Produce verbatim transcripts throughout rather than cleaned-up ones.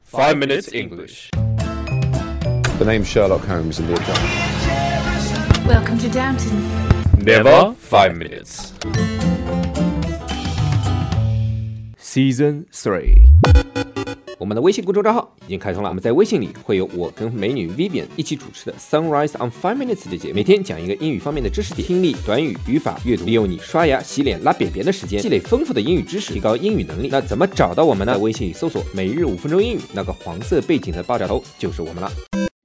Five Minutes English. The name's Sherlock Holmes in the account. Welcome to Downton. Never five minutes. Season three。 我们的微信公众账号已经开通了，我们在微信里会有我跟美女 Vivian 一起主持的 Sunrise on Five Minutes 的节目，每天讲一个英语方面的知识点，听力、短语、语法、阅读，利用你刷牙、洗脸、拉便便的时间，积累丰富的英语知识，提高英语能力。那怎么找到我们呢？在微信里搜索每日五分钟英语，那个黄色背景的爆炸头就是我们了。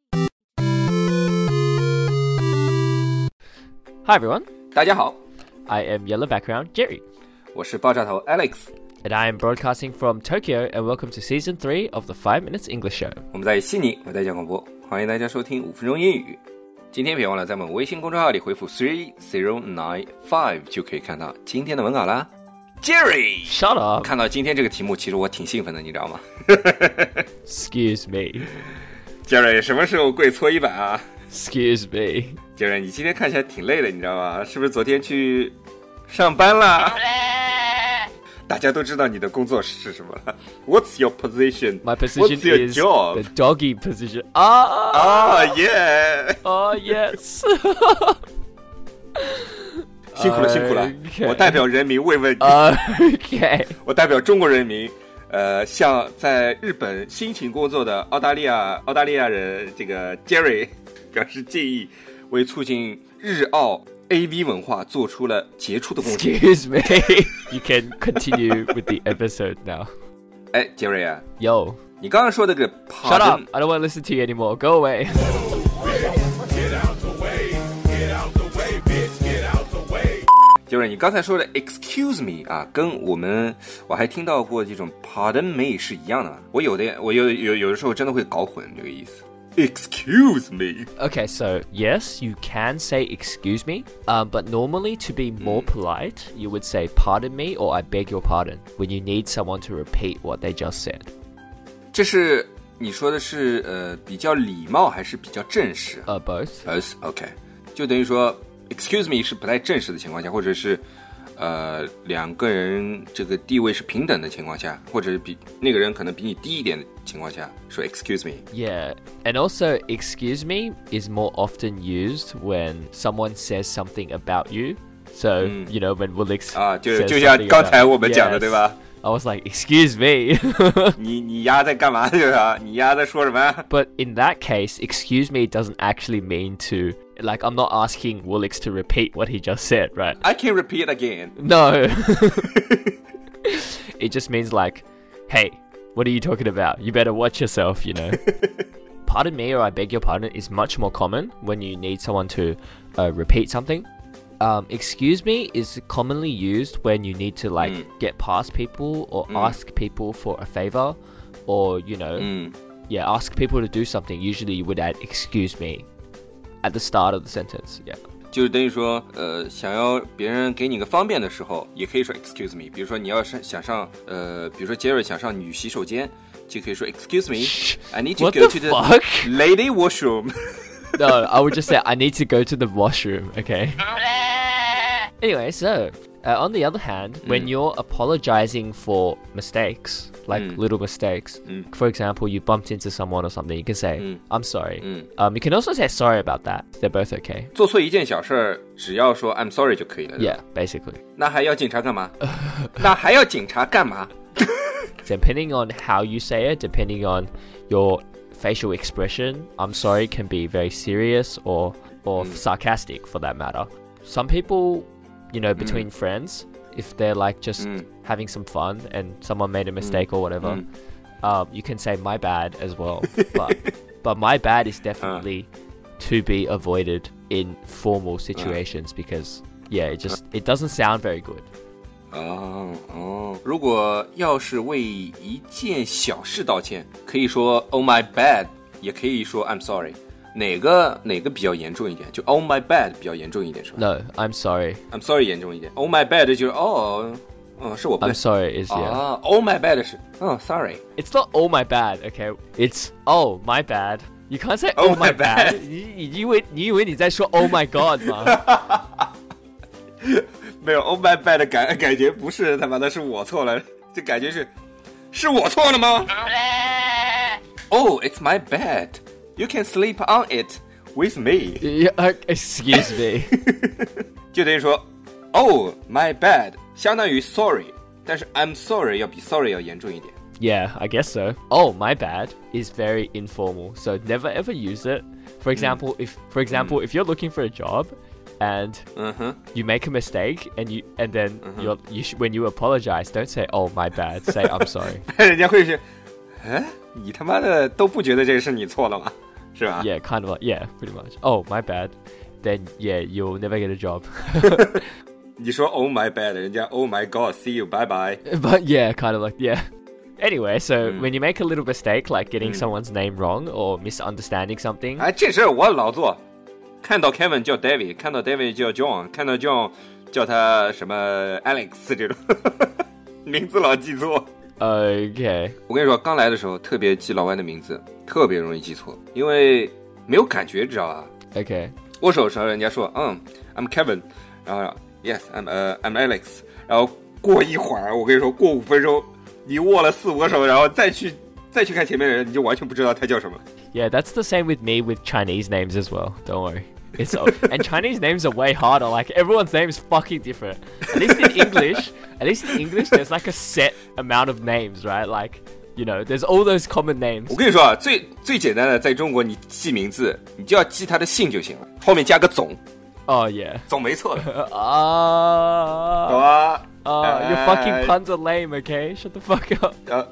Hi everyone, 大家好， I am Yellow Background Jerry, 我是爆炸头 Alex， and I am broadcasting from Tokyo, and welcome to Season three of the Five Minutes English Show. 我们在悉尼为大家广播，欢迎大家收听五分钟英语。今天别忘了在我们微信公众号里回复 three zero nine five 就可以看到今天的文稿啦。Jerry， Shut up. 看到今天这个题目，其实我挺兴奋的，你知道吗 Excuse me. Jerry， 什么时候跪搓衣板啊 Excuse me. Jerry， 你今天看起来挺累的，你知道吗？是不是昨天去上班啦？大家都知道你的工作是什么了。What's your position? My position What's your is job? the doggy position. Ah, Ah, yeah. oh yes. 辛苦了，辛苦了。 Okay. 我代表人民慰问你。 Okay. 我代表中国人民，呃，向在日本辛勤工作的澳大利亚澳大利亚人这个 Jerry 表示敬意，为促进日澳 A V 文化做出了杰出的贡献。 Excuse me. You can continue with the episode now. 哎 ，Jerry 啊， Yo. 你刚刚说的这个 Shut up. I don't want to listen to you anymore. Go away. Jerry， 你刚才说的 excuse me 啊，跟我们我还听到过这种 pardon me 是一样的。我有的我有有有的时候真的会搞混这个意思。Excuse me. Okay, so yes, you can say excuse me, um, but normally to be more polite, you would say pardon me or I beg your pardon when you need someone to repeat what they just said. 这是你说的是呃比较礼貌还是比较正式 Uh, both. Both, OK， 就等于说 excuse me 是不太正式的情况下，或者是呃两个人这个地位是平等的情况下，或者是比那个人可能比你低一点的情况下说 excuse me。 Yeah, and also excuse me is more often used when someone says something about you. So, you know, when Woolix 啊，就 says 就像 something 刚才 about- 我们讲的 Yes. 对吧？ I was like, excuse me. 你你丫在干嘛？就是啊，你丫在说什么 But in that case, excuse me doesn't actually mean to, like, I'm not asking Woolix to repeat what he just said, right? I can repeat again. No. It just means like, hey, what are you talking about? You better watch yourself, you know. Pardon me or I beg your pardon is much more common when you need someone to uh, repeat something. Um, excuse me is commonly used when you need to like Mm. get past people or Mm. ask people for a favor or, you know, 嗯 yeah, ask people to do something. Usually you would add excuse me at the start of the sentence. Yeah. 就是等于说，呃，想要别人给你个方便的时候，也可以说 excuse me。比如说你要是想上，呃，比如说 Jerry 想上女洗手间，就可以说 excuse me，I need to What go the to the fuck? lady washroom 。 No, I would just say I need to go to the washroom, okay? Anyway, so uh, on the other hand, when you're apologizing for mistakes, like Mm. little mistakes, Mm. for example, you bumped into someone or something, you can say, Mm. I'm sorry. Mm. Um, you can also say sorry about that. They're both okay. 做错一件小事儿，只要说 I'm sorry 就可以了。 Yeah, basically. 那还要警察干嘛？那还要警察干嘛？ Depending on how you say it, depending on your facial expression, I'm sorry can be very serious or, or sarcastic for that matter. Some people, you know, between friends, if they're like just Mm. having some fun and someone made a mistake or whatever, Mm. um, you can say my bad as well. but but my bad is definitely to be avoided in formal situations because yeah, it just it doesn't sound very good. 哦哦，如果要是为一件小事道歉，可以说 Oh my bad， 也可以说 I'm sorry。哪个哪个比较严重一点？就 Oh my bad 比较严重一点是吧 No, I'm sorry. ？I'm sorry 严重一点。Oh my bad 就是哦，哦是我不对 I'm。sorry is yeah. 啊 ，Oh my bad 是哦 sorry。 It's not all my bad, okay? It's oh my bad. You can't say Oh oh, my my bad. bad. 你你以为你以为你在说 oh my god 吗？ 没有 Oh my bad 的感感觉不是他妈的是我错了，这感觉是是我错了吗？ Oh, it's my bed. You can sleep on it with me. Yeah, uh, excuse me. 就等于说 Oh, my bad 相当于 sorry 但是 I'm sorry 要比 sorry 要严重一点。 Yeah, I guess so. Oh, my bad is very informal, so never ever use it. For example, mm. if for example, mm. if you're looking for a job and uh-huh. you make a mistake and you and then uh-huh. you're, you sh- when you apologize, don't say oh my bad, say I'm sorry. 人家会是哎你他妈的都不觉得这个是你错了吗？是吧？ Yeah, kind of like, yeah, pretty much. Oh, my bad. Then yeah, you'll never get a job. 你说 oh my bad 人家 oh my god see you bye bye. But yeah, kind of like, yeah. Anyway, so mm. when you make a little mistake like getting mm. someone's name wrong or misunderstanding something. 哎，这事我老做。看到 Kevin 叫 David， 看到 David 叫 John， 看到 John 叫他什么 Alex 这种名字老记错。 Okay. 我跟你说，刚来的时候特别记老外的名字，特别容易记错，因为没有感觉，知道吧 ？Okay. 握手的时候，人家说，嗯 ，I'm Kevin， 然后 Yes，I'm 呃、uh, I'm Alex， 然后过一会儿，我跟你说，过五分钟，你握了四五个手，然后再去再去看前面的人，你就完全不知道他叫什么。 Yeah, that's the same with me with Chinese names as well. Don't worry. It's and Chinese names are way harder. Like everyone's name is fucking different. At least in English, at least in English, there's like a set amount of names, right? Like, you know, there's all those common names. 我跟你说啊，最最简单的，在中国你记名字，你就要记他的姓就行了，后面加个总。 Oh yeah. 总没错的。 啊。 懂啊。 Uh, your fucking puns are lame, okay? Shut the fuck up. Uh.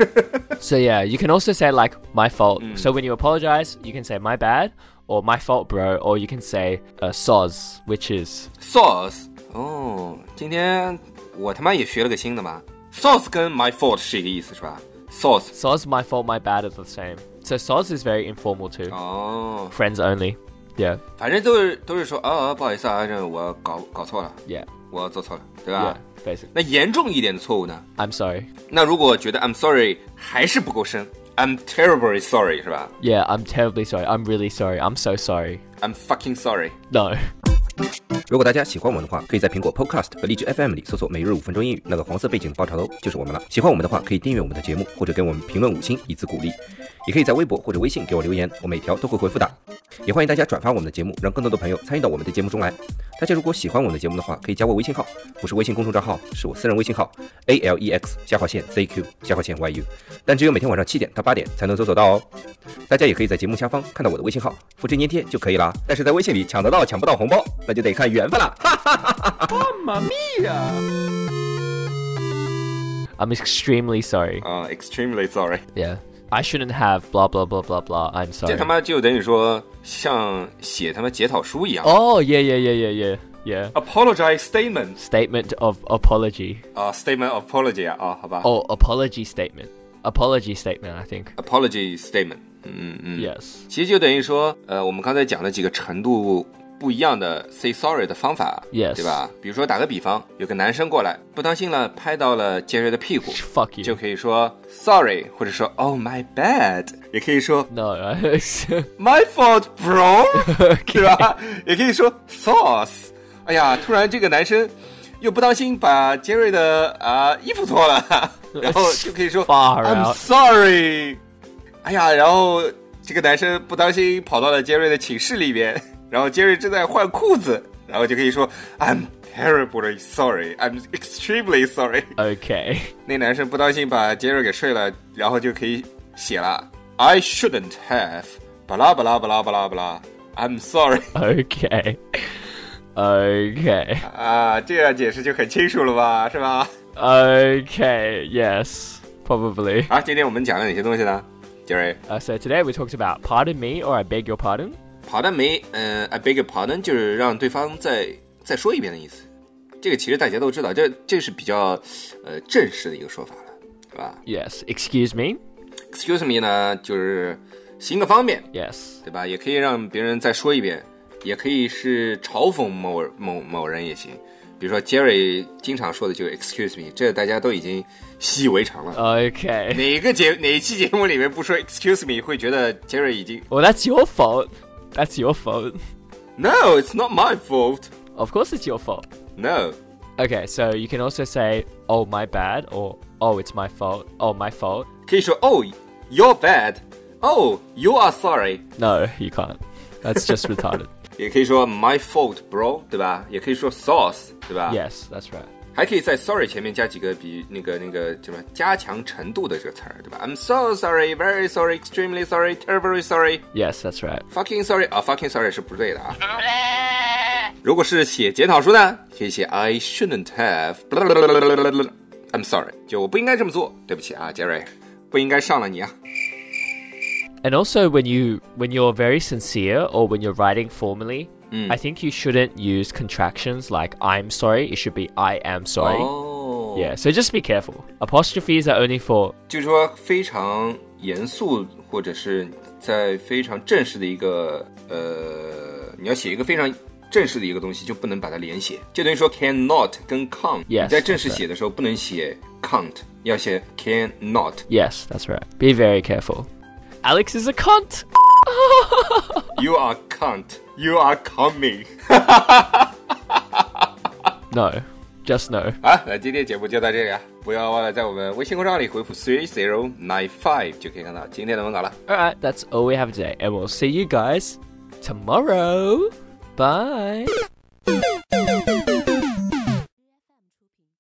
So yeah, you can also say like my fault. Mm. So when you apologize, you can say my bad or my fault, bro, or you can say uh, soz, which is soz. 哦，今天我他妈也学了个新的嘛。Soz 跟 my fault 是一个意思是吧？ Soz. Soz, my fault, my bad is the same. So soz is very informal too. Oh. Friends only. Yeah. 反正都是都是说啊，不好意思啊，这我搞搞错了。 Yeah. 我做错了，对吧？ Yeah, basically. 那严重一点的错误呢 ？I'm sorry. 那如果觉得 I'm sorry 还是不够深 ，I'm terribly sorry 是吧 ？Yeah, I'm terribly sorry. I'm really sorry. I'm so sorry. I'm fucking sorry. No. 如果大家喜欢我们的话，可以在苹果 Podcast 和荔枝 F M 里搜索每日五分钟英语，那个黄色背景的爆炒头就是我们了。喜欢我们的话，可以订阅我们的节目，或者给我们评论五星以资鼓励。也可以在微博或者微信给我留言，我每条都会回复的。也欢迎大家转发我们的节目，让更多的朋友参与到我们的节目中来。大家如果喜欢我们的节目的话，可以加我微信号，不是微信公众账号，是我私人微信号 A L E X 下划线 Z Q 下划线 Y U， 但只有每天晚上七点到八点才能搜索到哦。大家也可以在节目下方看到我的微信号，复制粘贴就可以啦。但是在微信里抢得到抢不到红包，那就得看缘分了。 Mamma mia! I'm extremely sorry. Uh, extremely sorry. Yeah. I shouldn't have blah blah blah blah blah. I'm sorry. 这他妈就等于说像写他妈检讨书一样。 Oh yeah yeah yeah yeah yeah yeah. Apologize statement. Statement of apology. 啊、uh, ，statement of apology 啊，啊，好吧。 Oh, apology statement. Apology statement, I think. Apology statement. 嗯嗯。 Yes. 其实就等于说，呃，我们刚才讲的几个程度不一样的 say sorry 的方法 ，yes， 对吧？比如说打个比方，有个男生过来，不当心了拍到了杰瑞的屁股 ，fuck you， 就可以说 sorry， 或者说 oh my bad， 也可以说 no my fault bro， 对吧？也可以说 sauce。哎呀，突然这个男生又不当心把杰瑞的啊、呃、衣服脱了，然后就可以说 I'm sorry。哎呀，然后这个男生不当心跑到了杰瑞的寝室里面。然后杰瑞正在换裤子，然后就可以说 I'm terribly sorry, I'm extremely sorry. Okay. 那男生不当心把杰瑞给睡了，然后就可以写了 I shouldn't have 巴拉巴拉巴拉巴拉巴拉 I'm sorry. Okay. Okay. 啊，这样解释就很清楚了吧，是吧 Okay, yes, probably. 好，今天我们讲了哪些东西呢，杰瑞？ Uh, so today we talked about pardon me or I beg your pardon.Pardon me, 呃、uh, ，I beg your pardon 就是让对方再再说一遍的意思。这个其实大家都知道，这这是比较呃正式的一个说法了，是吧 ？Yes. Excuse me. Excuse me 呢，就是行个方便 ，yes， 对吧？也可以让别人再说一遍，也可以是嘲讽某某某人也行。比如说 Jerry 经常说的就是 Excuse me， 这大家都已经习以为常了。 Okay. 哪个节哪一期节目里面不说 Excuse me， 会觉得 Jerry 已经 ？Well, that's your fault.That's your fault. No, it's not my fault. Of course it's your fault. No. Okay, so you can also say, oh, my bad, or oh, it's my fault, oh, my fault. 可以说 oh, you're bad, Oh, you are sorry. No, you can't. That's just retarded. 也可以说 my fault, bro， 对吧？也可以说 sauce， 对吧 Yes, that's right. 还可以在 sorry 前面加几个比那个那个什么加强程度的这个词儿，对吧 ？I'm so sorry, very sorry, extremely sorry, terribly sorry. Yes, that's right. Fucking sorry 啊 ，fucking sorry 是不对的啊。如果是写检讨书呢，可以写 I shouldn't have. I'm sorry， 就我不应该这么做，对不起啊，杰瑞，不应该上了你啊。 And also, when you when you're very sincere or when you're writing formally, mm. I think you shouldn't use contractions like "I'm sorry." It should be "I am sorry." Oh. Yeah, so just be careful. Apostrophes are only for 就是说非常严肃或者是在非常正式的一个呃，你要写一个非常正式的一个东西，就不能把它连写，就等于说 cannot 跟 can't， yes, 你在正式写的时候不能写 can't， 要写 cannot。 Yes, that's right. Be very careful. Alex is a cunt. You are cunt. You are coming. No, just no. 好，那今天节目就到这里啊！不要忘了在我们微信公众号里回复 three zero nine five 就可以看到今天的文稿了。 Alright, that's all we have today, and we'll see you guys tomorrow. Bye.